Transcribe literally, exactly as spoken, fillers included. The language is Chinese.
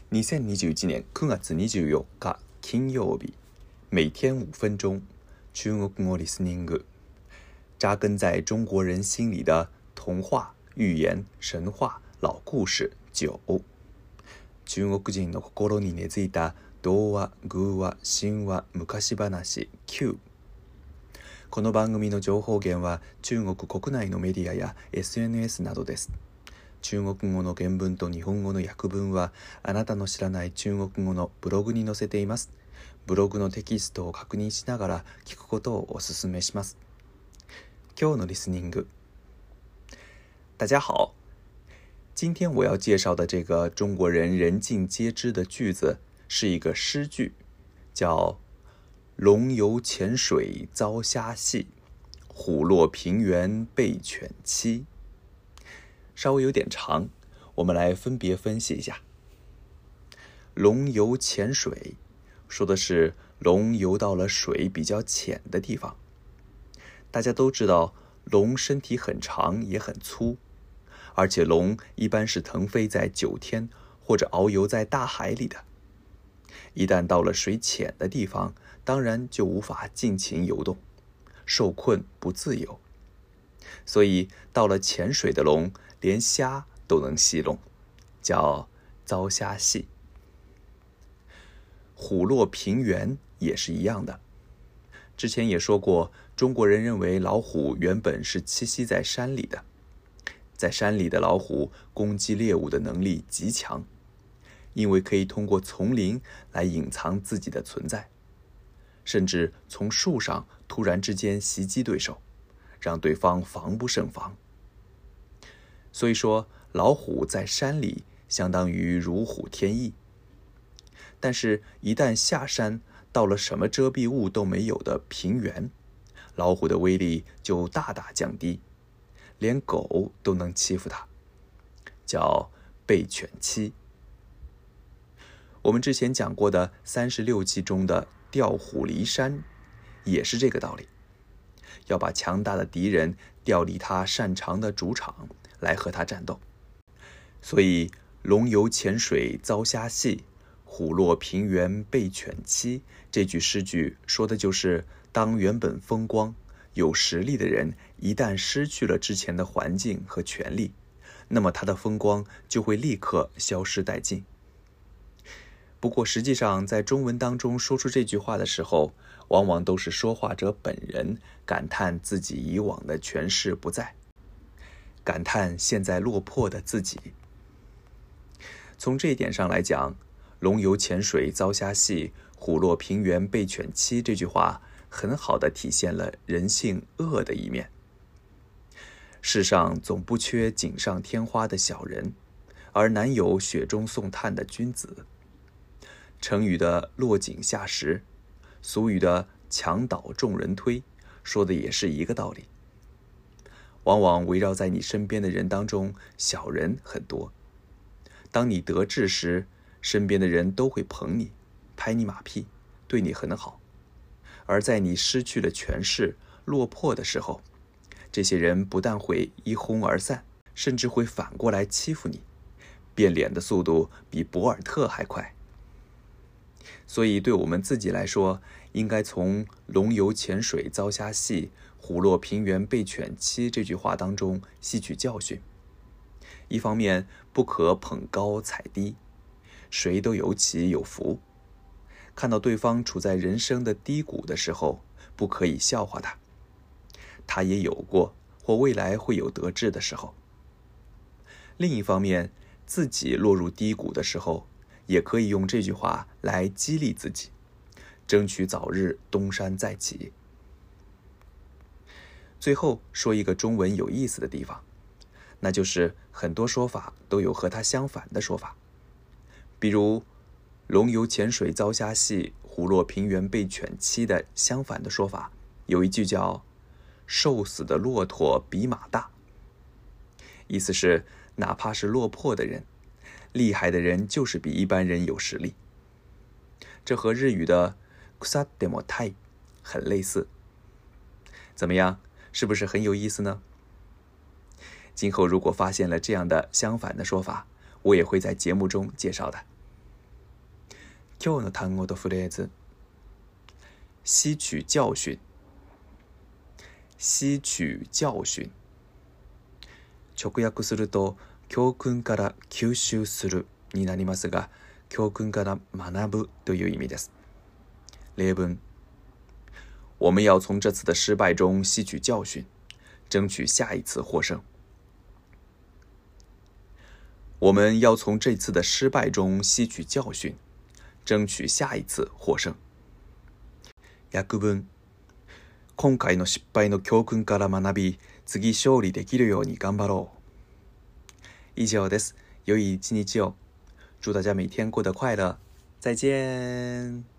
にせんにじゅういちねんくがつにじゅうよっか金曜日，每天五分钟，中国語リスニング，扎根在中国人心里的童話、寓言、神話、老故事九。中国人の心に根付いた童話、寓話、神話、昔話九。この番組の情報源は中国国内のメディアや エスエヌエス などです。中国語の原文と日本語の訳文はあなたの知らない中国語のブログに載せています。ブログのテキストを確認しながら聞くことをお勧めします。今日のリスニング。大家好，今天我要介绍的这个中国人人尽皆知的句子是一个诗句，叫龙游浅水遭虾戏，虎落平原被犬欺。稍微有点长，我们来分别分析一下。龙游浅水说的是龙游到了水比较浅的地方。大家都知道龙身体很长也很粗，而且龙一般是腾飞在九天或者遨游在大海里的。一旦到了水浅的地方，当然就无法尽情游动，受困不自由。所以到了浅水的龙连虾都能戏弄，叫遭虾戏。虎落平原也是一样的。之前也说过，中国人认为老虎原本是栖息在山里的，在山里的老虎攻击猎物的能力极强，因为可以通过丛林来隐藏自己的存在，甚至从树上突然之间袭击对手，让对方防不胜防。所以说，老虎在山里相当于如虎添翼，但是一旦下山到了什么遮蔽物都没有的平原，老虎的威力就大大降低，连狗都能欺负它，叫被犬欺。我们之前讲过的三十六计中的调虎离山也是这个道理，要把强大的敌人调离他擅长的主场来和他战斗。所以龙游浅水遭虾戏，虎落平原被犬欺，这句诗句说的就是当原本风光有实力的人一旦失去了之前的环境和权力，那么他的风光就会立刻消失殆尽。不过实际上在中文当中说出这句话的时候，往往都是说话者本人感叹自己以往的权势不在，感叹现在落魄的自己。从这一点上来讲，龙游浅水遭虾戏，虎落平原被犬欺这句话很好地体现了人性恶的一面。世上总不缺锦上添花的小人，而难有雪中送炭的君子。成语的落井下石，俗语的墙倒众人推，说的也是一个道理。往往围绕在你身边的人当中，小人很多。当你得志时，身边的人都会捧你，拍你马屁，对你很好。而在你失去了权势、落魄的时候，这些人不但会一哄而散，甚至会反过来欺负你，变脸的速度比博尔特还快。所以对我们自己来说，应该从龙游浅水遭虾戏，虎落平原被犬欺这句话当中吸取教训。一方面不可捧高踩低，谁都有起有伏。看到对方处在人生的低谷的时候，不可以笑话他，他也有过或未来会有得志的时候。另一方面，自己落入低谷的时候，也可以用这句话来激励自己，争取早日东山再起。最后说一个中文有意思的地方，那就是很多说法都有和它相反的说法。比如龙游浅水遭虾戏，虎落平原被犬欺的相反的说法，有一句叫瘦死的骆驼比马大，意思是哪怕是落魄的人，厉害的人就是比一般人有实力。这和日语的草でも大很类似。怎么样，是不是很有意思呢？今后如果发现了这样的相反的说法，我也会在节目中介绍的。 今日の単語とフレーズ。吸取教訓。吸取教訓。直訳すると、教訓から吸収するになりますが、教訓から学ぶという意味です。例文。我们要从这次的失败中吸取教训，争取下一次获胜。我们要从这次的失败中吸取教训，争取下一次獲勝。訳文。今回の失敗の教訓から学び、次勝利できるように頑張ろう。以上です。良い一日を。祝大家每天过得快乐。再见。